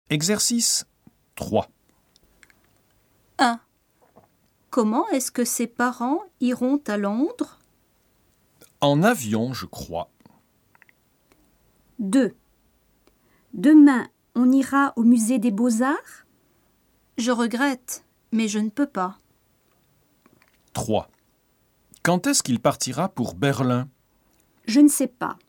Exercice 3. 1. Comment est-ce que ses parents iront à Londres? En avion, je crois. 2. Demain, on ira au musée des Beaux-Arts? Je regrette, mais je ne peux pas. 3. Quand est-ce qu'il partira pour Berlin? Je ne sais pas.